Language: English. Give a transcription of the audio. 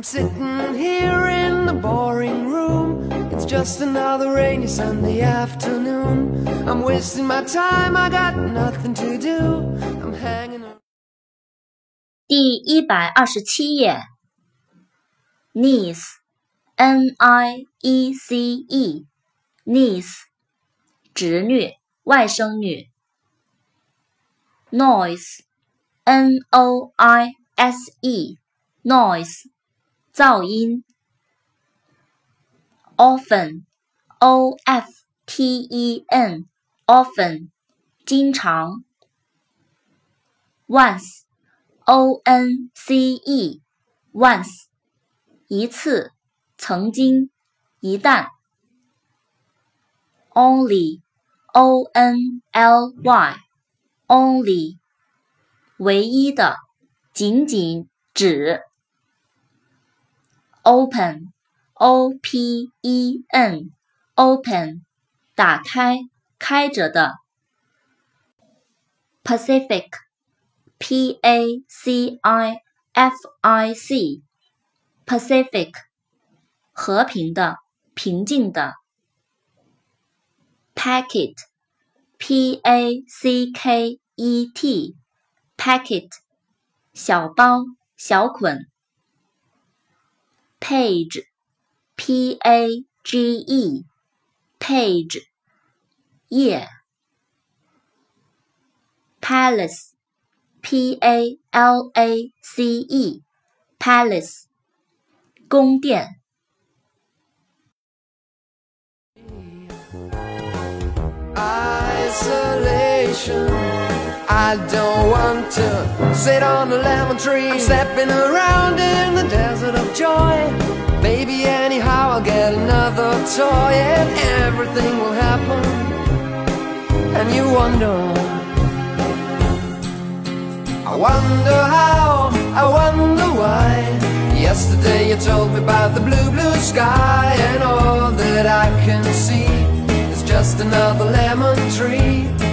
I'm sitting here in the boring room. It's just another rainy Sunday afternoon. I'm wasting my time, I got nothing to do. I'm hanging around. 第127页 Niece N-I-E-C-E Niece 侄女外甥女 Noise N-O-I-S-E Noise 噪音 Often O-F-T-E-N Often 经常 Once O-N-C-E Once 一次曾经一旦 Only O-N-L-Y Only 唯一的仅仅只 Open O-P-E-N Open 打开开着的 Pacific P-A-C-I-F-I-C Pacific 和平的平静的 Packet P-A-C-K-E-T Packet 小包小捆 Page P-A-G-E Page 页 Palace P-A-L-A-C-E Palace 宫殿 Isolation. I don't want to sit on a lemon tree. I'm stepping around in the desert of joy. Maybe anyhow I'll get another toy and everything will happen. And you wonder, I wonder how, I wonder why. Yesterday you told me about the blue, blue sky, and all that I can see is just another lemon tree.